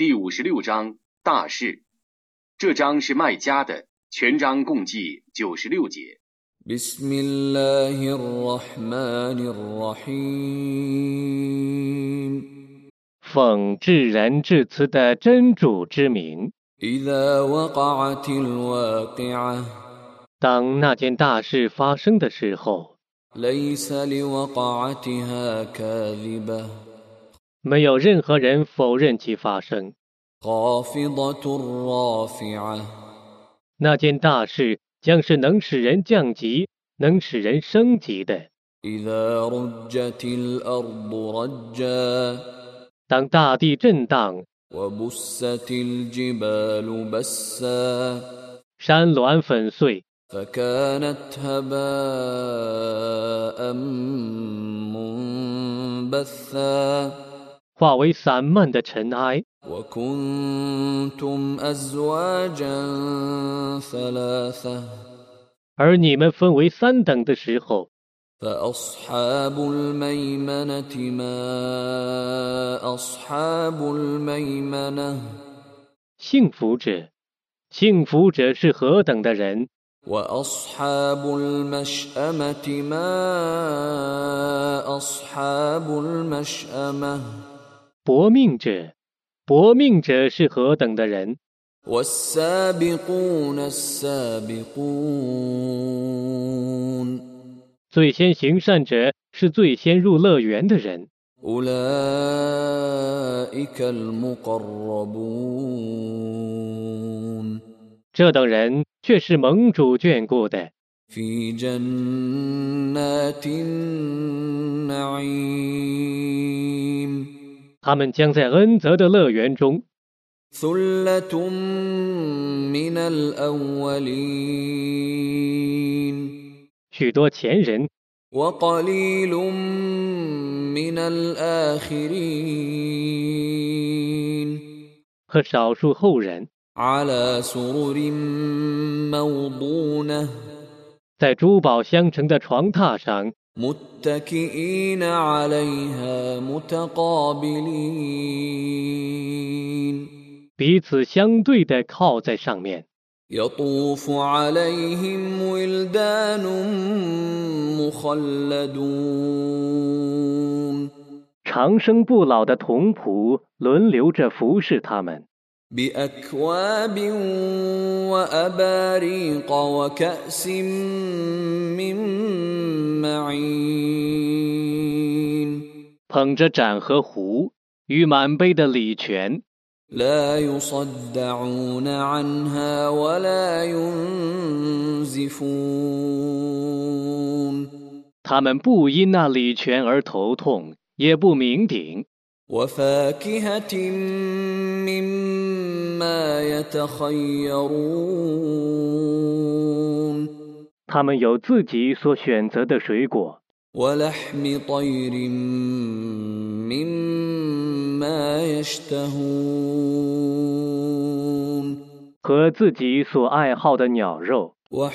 第56章大事。这章是麦加的，全章共计96节。 奉至仁至慈的真主之名。当那件大事发生的时候，没有任何人否认其发生。那件大事将是能使人降级，能使人升级的。当大地震荡，山峦粉碎，化为散漫的尘埃。而你们分为三等的时候，幸福者，幸福者是何等的人？搏命者，搏命者是何等的人？最先行善者是最先入乐园的人。这等人却是盟主眷顾的。他们将在恩泽的乐园中。许多前人，和少数后人，在珠宝镶成的床榻上，彼此相对地靠在上面。长生不老的童仆轮流着服侍他们。捧着盏和壶与满杯的礼泉，他们不因那礼泉而头痛，也不酩酊。他们有自己所选择的水果，和自己所爱好的鸟肉，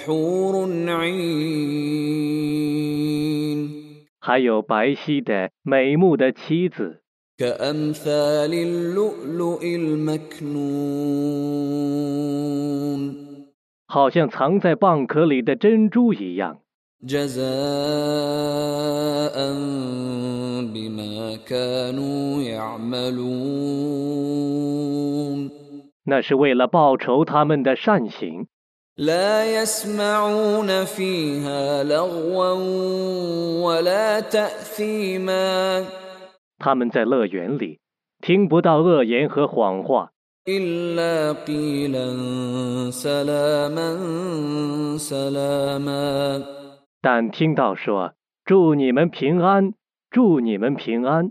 还有白皙的美目的妻子，好像藏在蚌壳里的珍珠一样。那是为了报酬他们的善行。他们在乐园里听不到恶言和谎话，但听到说祝你们平安，祝你们平安。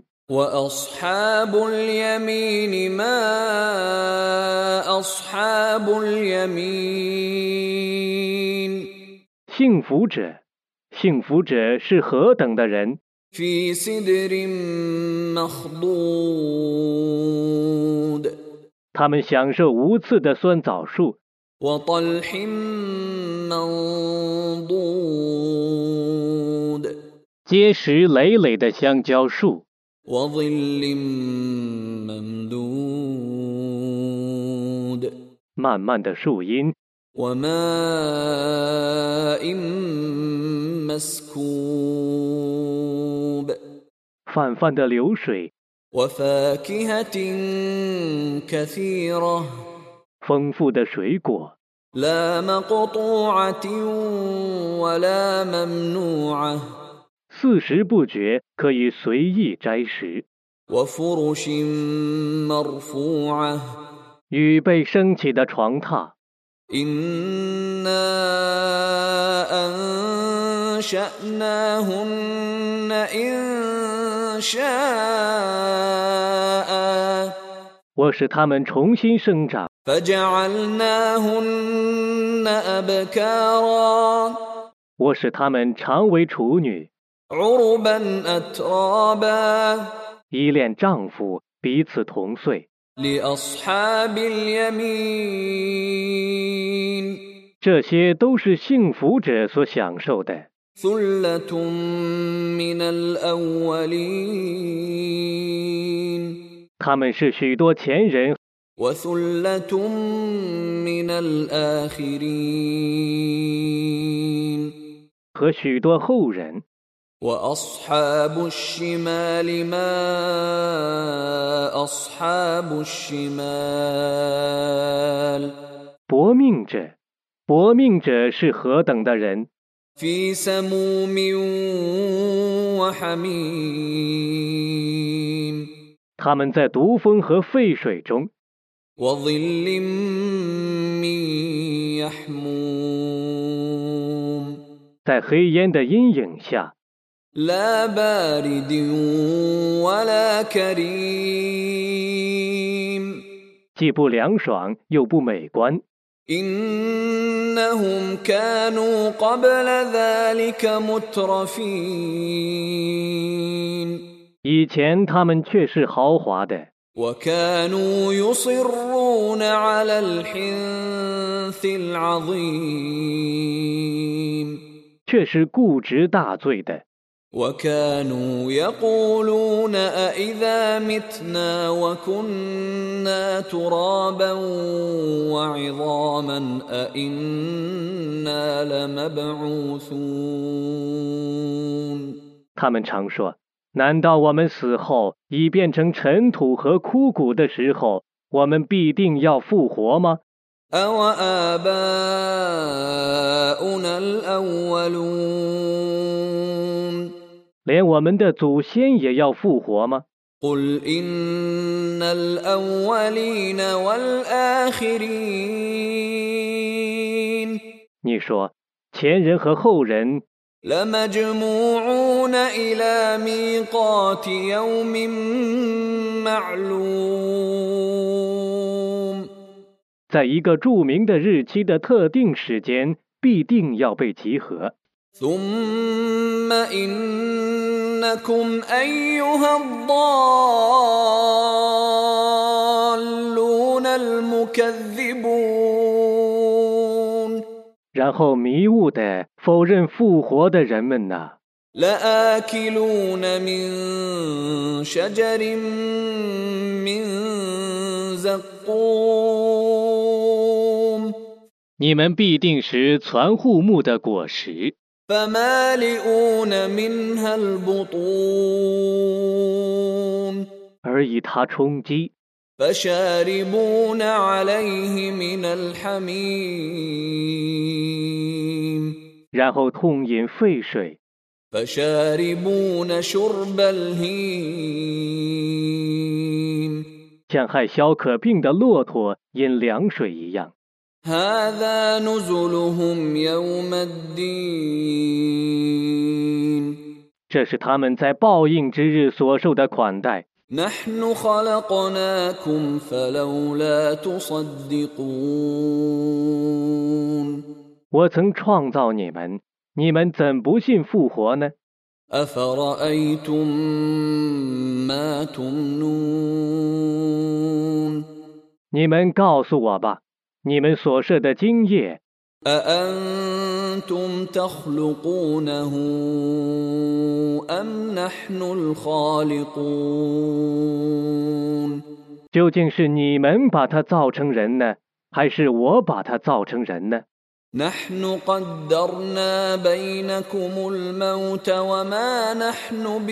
幸福者，幸福者是何等的人？他们享受无刺的酸枣树，结实累累的香蕉树， 漫漫的树荫， وماء مسكوب 泛泛的流水， وفاكهة كثيرة 丰富的水果， لا مقطوعة ولا ممنوعة 四时不绝，可以随意摘食， وفرش مرفوعة 与被升起的床榻。 إنا أنشأناهن إنشاء 我使它们重新生长， فجعلناهن أبكارا 我使它们常为处女， عربا أترابا 依恋丈夫，彼此同岁。 لأصحاب اليمين 这些都是幸福者所享受的， ثلة من الأولين 他们是许多前人 وثلة من الآخرين 和许多后人。 وأصحاب الشمال ما أصحاب الشمال 薄命者，薄命者是何等的人！ في سموم وحميم 他们在毒风和沸水中， وظل من يحموم 在黑烟的阴影下， لا بارد ولا كريم 既不凉爽又不美观。 إنهم كانوا قبل ذلك مترفين 以前他们却是豪华的， وكانوا يصرون على الحنث العظيم 却是固执大罪的。 وكانوا يقولون أإذا متنا وكنا ترابا وعظاما أإنا لمبعوثون 他们常说：“难道我们死后已变成尘土和枯骨的时候，我们必定要复活吗？” أوآباؤنا الأولون 连我们的祖先也要复活吗？ قل إن الأولين والآخرين 你说，前人和后人 لمجموعون إلى ميقات يوم معلوم 在一个著名的日期的特定时间，必定要被集合。 ثم إنكم أيها الضالون المكذبون 然后迷雾的否认复活的人们呐， لآكلون من شجر من زقوم 你们必定是攒户木的果实， فمالئون منها البطون 而以它充饥， فشاربون عليه من الحميم 然后痛饮沸水， فشاربون شرب الهيم 像害消渴病的骆驼饮凉水一样。 هذا نزلهم يوم الدين 这是他们在报应之日所受的款待。 نحن خلقناكم فلولا تصدقون 我曾创造你们，你们怎不信复活呢？ أفرأيتم ما تمنون 你们告诉我吧，你们所设的精液， أأنتم تخلقونه أم نحن الخالقون 究竟是你们把它造成人呢， 还是我把他造成人呢？ نحن قدرنا بينكم الموت وما نحن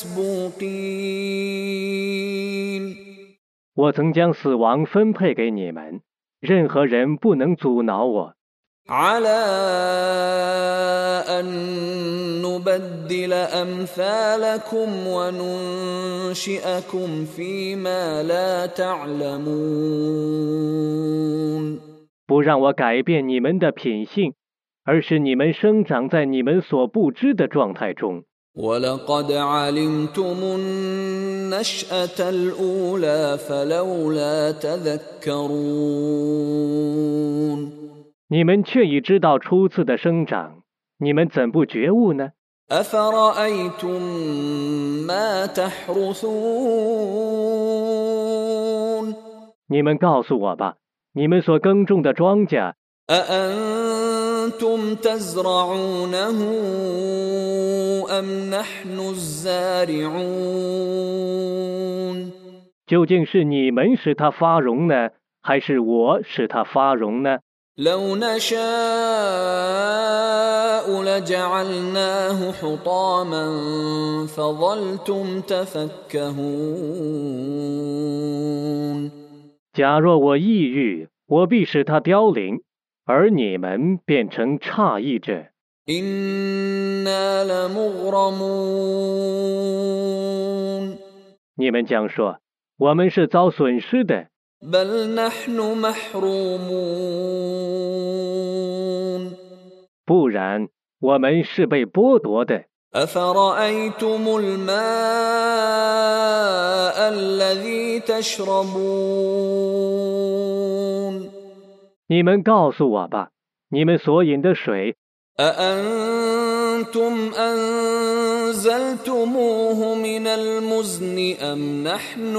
بمسبوقين 我曾将死亡分配给你们，任何人不能阻挠我。 على أن نبدل أمثالكم وننشئكم فيما لا تعلمون 不让我改变你们的品性，而是你们生长在你们所不知的状态中。 ولقد علمتم النشأة الأولى فلولا تذكرون 你们却已知道初次的生长，你们怎不觉悟呢？ أفرأيتم ما تحرثون 你们告诉我吧，你们所耕种的庄稼， أأنتم تزرعونه أم نحن الزارعون 究竟是你们使它发荣呢，还是我使它发荣呢？ لو نشاء لجعلناه حطاما فظلتم تفكهون 假若我抑郁，我必使它凋零，而你们变成诧异者。 إنا لمغرمون 你们将说，我们是遭损失的， بل نحن محرومون 不然我们是被剥夺的。 أفرأيتم الماء الذي تشربون 你们告诉我吧，你们所饮的水， أأنتم أنزلتموه من المزن أم نحن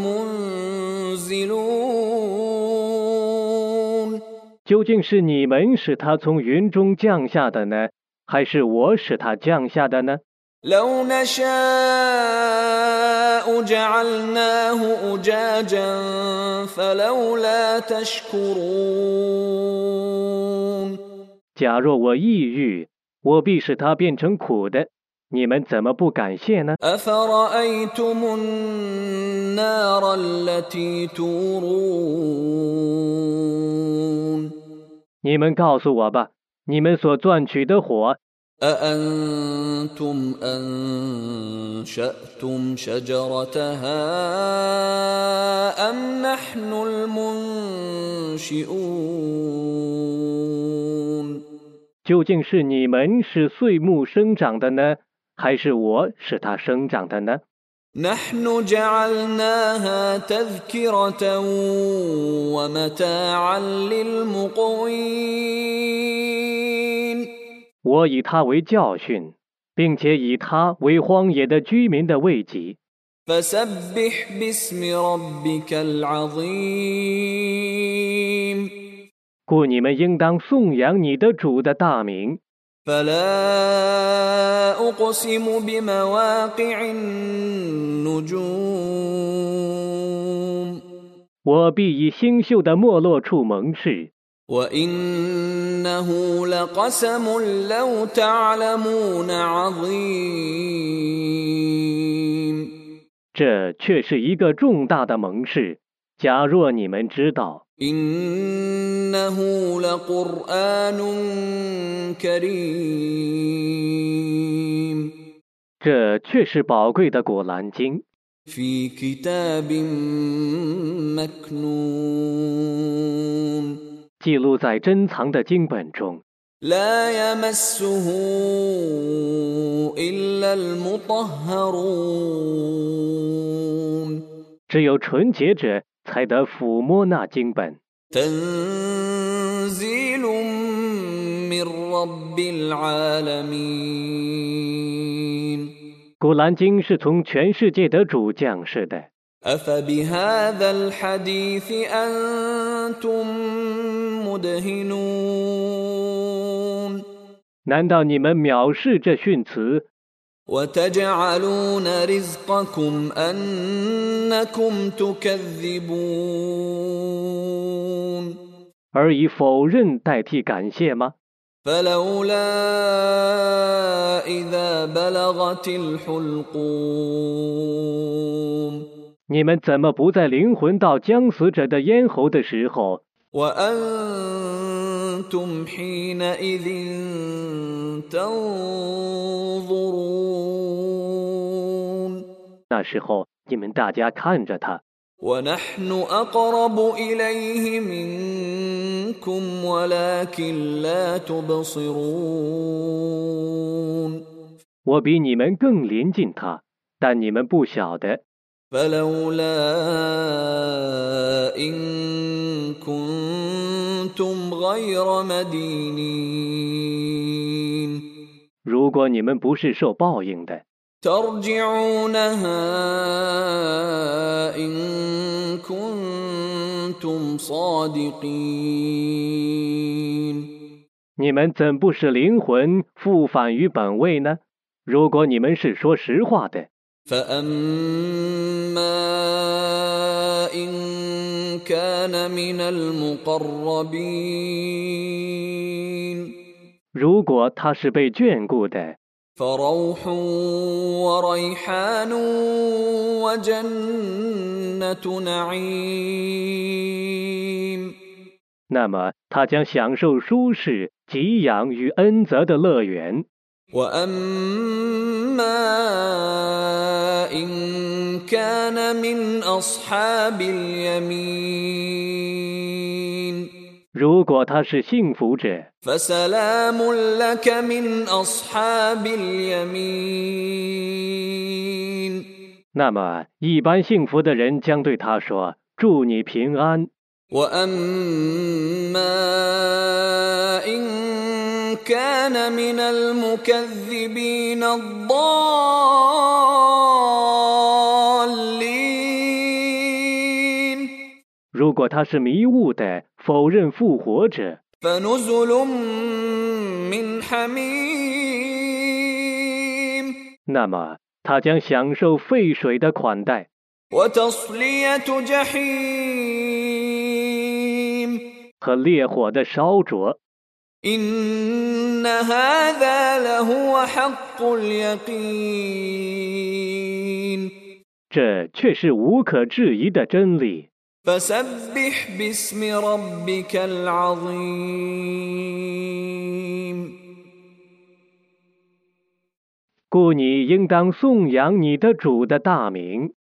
المنزلون 究竟是你们使它从云中降下的呢，还是我使它降下的呢？ لو نشاء جعلناه أجاجا فلولا تشكرون 假若我抑郁，我必使它变成苦的，你们怎么不感谢呢？ أفرأيتم النار التي تورون 你们告诉我吧，你们所赚取的火， أأنتم أنشأتم شجرتها أم نحن المنشئون 究竟是你们使碎木生长的呢，还是我使它生长的呢？ نحن جعلناها تذكرة ومتاعا للمقوين 我以它为教训，并且以它为荒野的居民的慰藉。 فسبح باسم ربك العظيم 故你们应当颂扬你的主的大名。 فلا أقسم بمواقع النجوم 我必以星宿的没落处盟誓， وإنه لقسم لو تعلمون عظيم 这却是一个重大的盟誓。假若你们知道， إنه لقرآن كريم 这却是宝贵的果兰经， في كتاب مكنون 记录在珍藏的经本中， لا يمسه إلا المطهرون 只有纯洁者才得抚摸那经本。 تنزيل من رب العالمين 古兰经是从全世界的主降世的。 أفبهذا الحديث أنتم مدهنون 难道你们藐视这训词， وتجعلون رزقكم أنكم تكذبون 而以否认代替感谢吗？ فلولا إذا بلغت الحلقوم 你们怎么不在灵魂到将死者的咽喉的时候， وأنتم حينئذ تنظرون 那时候你们大家看着他， ونحن أقرب إليه منكم ولكن لا تبصرون 我比你们更临近他，但你们不晓得。 فلولا إن كنتم غير مدينين 如果你们不是受报应的， ترجعونها إن كنتم صادقين 你们怎不使灵魂复返于本位呢？如果你们是说实话的， فأما إن كان من المقربين 如果他是被眷顾的， فروح وريحان وجنة نعيم 那么他将享受舒适、给养与恩泽的乐园。 وأما إن كان من أصحاب اليمين 如果他是幸福者， فسلام لك من أصحاب اليمين 那么一般幸福的人将对他说：“祝你平安。” وأما إن كان من المكذبين الضالين 如果他是迷雾的、否认复活者， فنزل من حميم 那么他将享受沸水的款待， وتصلية جحيم 和烈火的烧灼。 إن هذا لهو حق اليقين 这却是无可置疑的真理。 فسبح باسم ربك العظيم 故你应当颂扬你的主的大名。